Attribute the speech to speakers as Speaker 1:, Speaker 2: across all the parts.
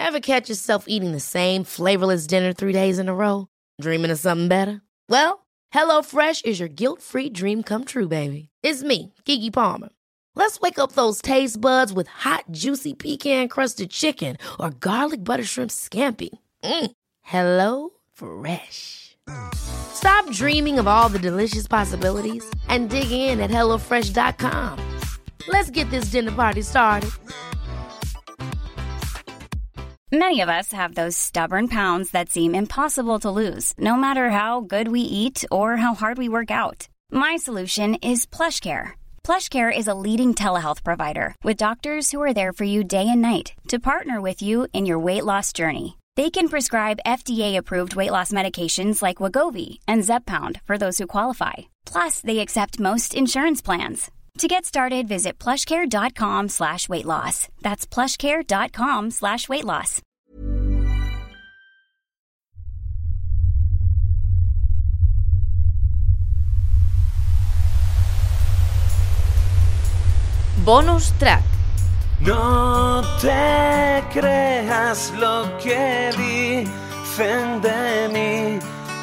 Speaker 1: Ever catch yourself eating the same flavorless dinner 3 days in a row? Dreaming of something better? Well, HelloFresh is your guilt-free dream come true, baby. It's me, Keke Palmer. Let's wake up those taste buds with hot, juicy pecan-crusted chicken or garlic butter shrimp scampi. Hello Fresh. Stop dreaming of all the delicious possibilities and dig in at HelloFresh.com. Let's get this dinner party started.
Speaker 2: Many of us have those stubborn pounds that seem impossible to lose, no matter how good we eat or how hard we work out. My solution is PlushCare. PlushCare is a leading telehealth provider with doctors who are there for you day and night to partner with you in your weight loss journey. They can prescribe FDA-approved weight loss medications like Wegovy and Zepbound for those who qualify. Plus, they accept most insurance plans. To get started, visit plushcare.com/weight loss. That's plushcare.com/weight loss.
Speaker 1: Bonus track.
Speaker 3: No te creas lo que dicen de mí,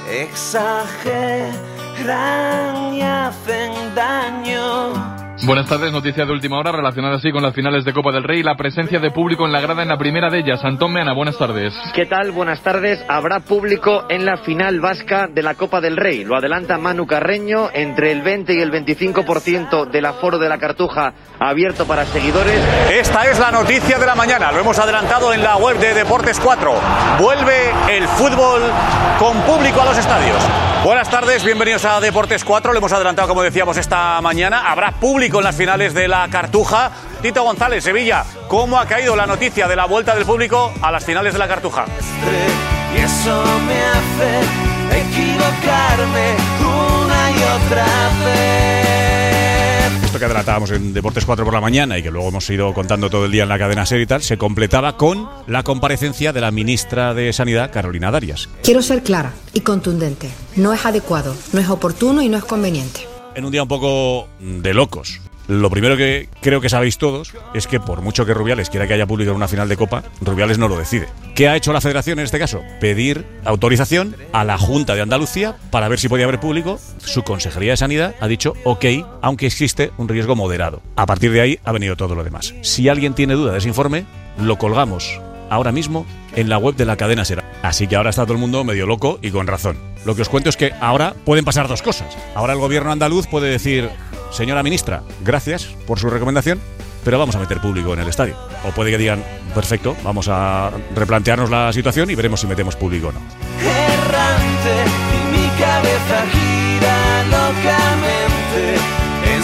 Speaker 3: exageran y hacen daño.
Speaker 4: Buenas tardes, noticia de última hora relacionada así con las finales de Copa del Rey y la presencia de público en la grada en la primera de ellas. Antón Meana, buenas tardes.
Speaker 5: ¿Qué tal? Buenas tardes. Habrá público en la final vasca de la Copa del Rey. Lo adelanta Manu Carreño, entre el 20 y el 25% del aforo de la Cartuja abierto para seguidores.
Speaker 6: Esta es la noticia de la mañana, lo hemos adelantado en la web de Deportes 4. Vuelve el fútbol con público a los estadios. Buenas tardes, bienvenidos a Deportes 4. Lo hemos adelantado, como decíamos, esta mañana. Habrá público en las finales de la Cartuja. Tito González, Sevilla, ¿cómo ha caído la noticia de la vuelta del público a las finales de la Cartuja?
Speaker 3: Y eso me hace equivocarme una y otra vez.
Speaker 6: Esto que adelantábamos en Deportes 4 por la mañana y que luego hemos ido contando todo el día en la cadena SER y tal, se completaba con la comparecencia de la ministra de Sanidad, Carolina Darias.
Speaker 7: Quiero ser clara y contundente. No es adecuado, no es oportuno y no es conveniente.
Speaker 6: En un día un poco de locos. Lo primero que creo que sabéis todos es que por mucho que Rubiales quiera que haya público en una final de Copa, Rubiales no lo decide. ¿Qué ha hecho la Federación en este caso? Pedir autorización a la Junta de Andalucía para ver si podía haber público. Su Consejería de Sanidad ha dicho ok, aunque existe un riesgo moderado. A partir de ahí ha venido todo lo demás. Si alguien tiene duda de ese informe, lo colgamos ahora mismo en la web de la cadena SER. Así que ahora está todo el mundo medio loco y con razón. Lo que os cuento es que ahora pueden pasar dos cosas. Ahora el gobierno andaluz puede decir: señora ministra, gracias por su recomendación, pero vamos a meter público en el estadio. O puede que digan: perfecto, vamos a replantearnos la situación y veremos si metemos público o no.
Speaker 3: Errante y mi cabeza gira locamente en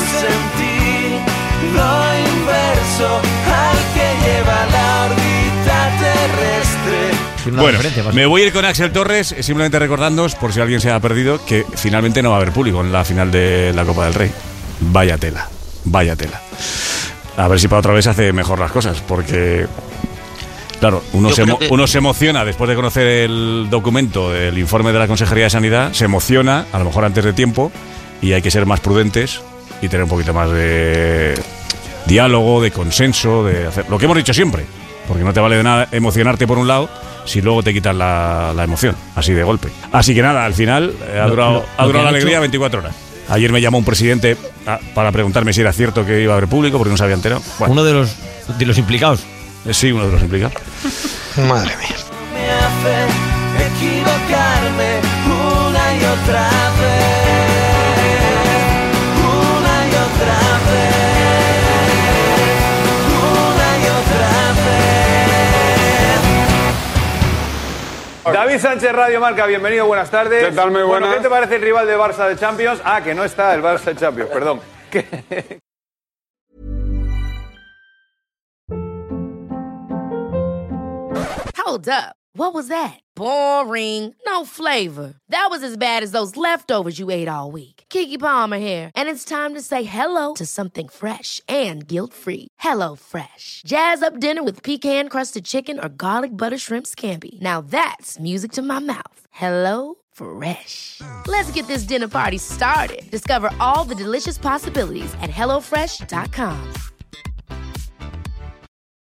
Speaker 3: sentido inverso al que lleva la órbita terrestre.
Speaker 6: Bueno, me voy a ir con Axel Torres, simplemente recordándoos, por si alguien se ha perdido, que finalmente no va a haber público en la final de la Copa del Rey. Vaya tela, vaya tela. A ver si para otra vez hace mejor las cosas, porque claro, uno se emociona después de conocer el documento, el informe de la Consejería de Sanidad, se emociona, a lo mejor antes de tiempo, y hay que ser más prudentes y tener un poquito más de diálogo, de consenso, de hacer lo que hemos dicho siempre, porque no te vale de nada emocionarte por un lado si luego te quitan la emoción, así de golpe. Así que nada, al final ha durado la alegría 24 horas. Ayer me llamó un presidente para preguntarme si era cierto que iba a haber público, porque no se había enterado. Bueno.
Speaker 8: Uno de los implicados.
Speaker 6: Sí, uno de los implicados.
Speaker 8: Madre mía.
Speaker 3: Me hace equivocarme una y otra vez, una y otra vez, una y otra vez.
Speaker 9: David Sánchez, Radio Marca, bienvenido, buenas tardes.
Speaker 10: ¿Qué tal? Muy buenas.
Speaker 9: Bueno, ¿qué te parece el rival de Barça de Champions? Que no está el Barça de Champions, perdón.
Speaker 1: Hold up. What was that? Boring. No flavor. That was as bad as those leftovers you ate all week. Keke Palmer here, and it's time to say hello to something fresh and guilt-free. Hello Fresh. Jazz up dinner with pecan-crusted chicken or garlic butter shrimp scampi. Now that's music to my mouth. Hello Fresh. Let's get this dinner party started. Discover all the delicious possibilities at HelloFresh.com.